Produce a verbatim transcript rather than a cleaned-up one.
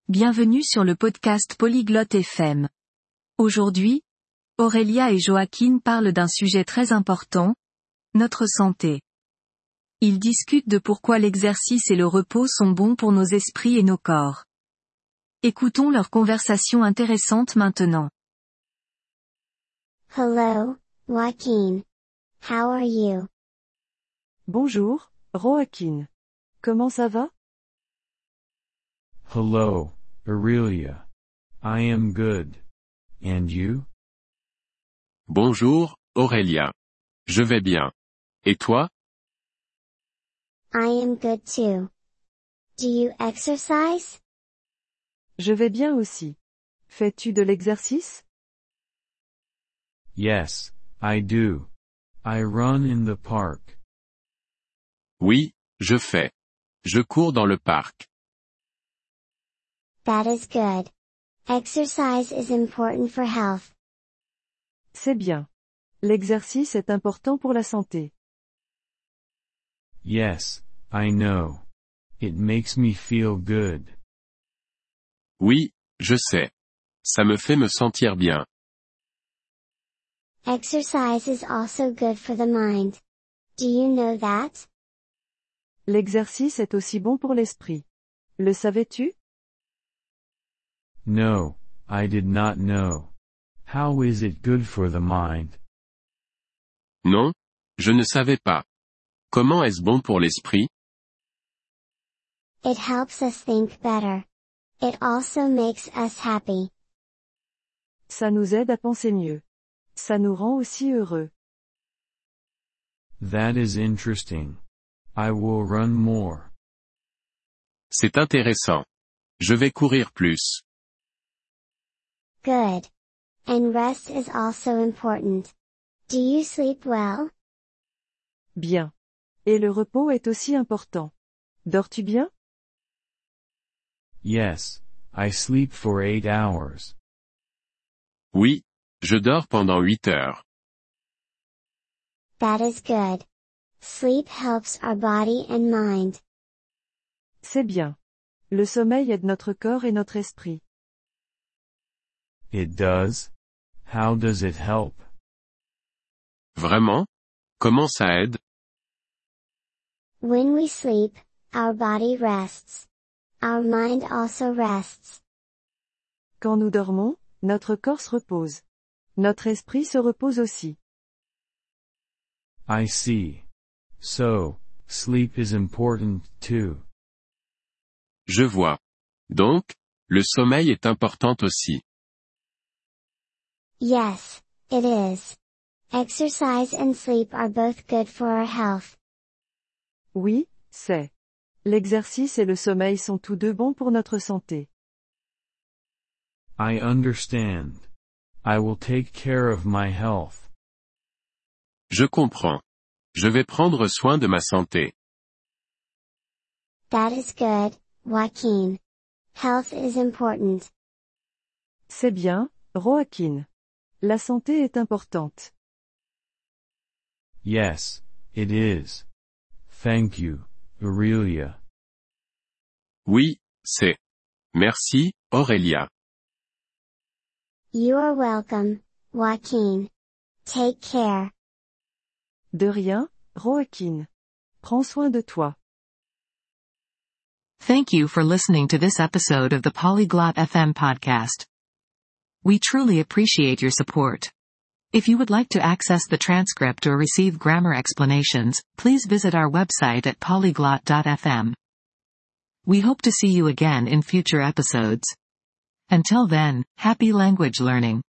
Bienvenue sur le podcast Polyglotte F M. Aujourd'hui, Aurélia et Joaquin parlent d'un sujet très important, notre santé. Ils discutent de pourquoi l'exercice et le repos sont bons pour nos esprits et nos corps. Écoutons leur conversation intéressante maintenant. Hello, Joaquin. How are you? Bonjour, Joaquin. Comment ça va? Hello, Aurelia. I am good. And you? Bonjour, Aurélia. Je vais bien. Et toi? I am good too. Do you exercise? Je vais bien aussi. Fais-tu de l'exercice? Yes, I do. I run in the park. Oui, je fais. Je cours dans le parc. That is good. Exercise is important for health. C'est bien. L'exercice est important pour la santé. Yes, I know. It makes me feel good. Oui, je sais. Ça me fait me sentir bien. Exercise is also good for the mind. Do you know that? L'exercice est aussi bon pour l'esprit. Le savais-tu? No, I did not know. How is it good for the mind? Non, je ne savais pas. Comment est-ce bon pour l'esprit? It helps us think better. It also makes us happy. Ça nous aide à penser mieux. Ça nous rend aussi heureux. That is interesting. I will run more. C'est intéressant. Je vais courir plus. Good. And rest is also important. Do you sleep well? Bien. Et le repos est aussi important. Dors-tu bien? Yes, I sleep for eight hours. Oui, je dors pendant huit heures. That is good. Sleep helps our body and mind. C'est bien. Le sommeil aide notre corps et notre esprit. It does? How does it help? Vraiment? Comment ça aide? When we sleep, our body rests. Our mind also rests. Quand nous dormons, notre corps se repose. Notre esprit se repose aussi. I see. So, sleep is important too. Je vois. Donc, le sommeil est important aussi. Yes, it is. Exercise and sleep are both good for our health. Oui, c'est. L'exercice et le sommeil sont tous deux bons pour notre santé. I understand. I will take care of my health. Je comprends. Je vais prendre soin de ma santé. That is good, Joaquin. Health is important. C'est bien, Joaquin. La santé est importante. Yes, it is. Thank you, Aurelia. Oui, c'est. Merci, Aurélia. You are welcome, Joaquin. Take care. De rien, Joaquin. Prends soin de toi. Thank you for listening to this episode of the Polyglot F M podcast. We truly appreciate your support. If you would like to access the transcript or receive grammar explanations, please visit our website at polyglot dot f m. We hope to see you again in future episodes. Until then, happy language learning.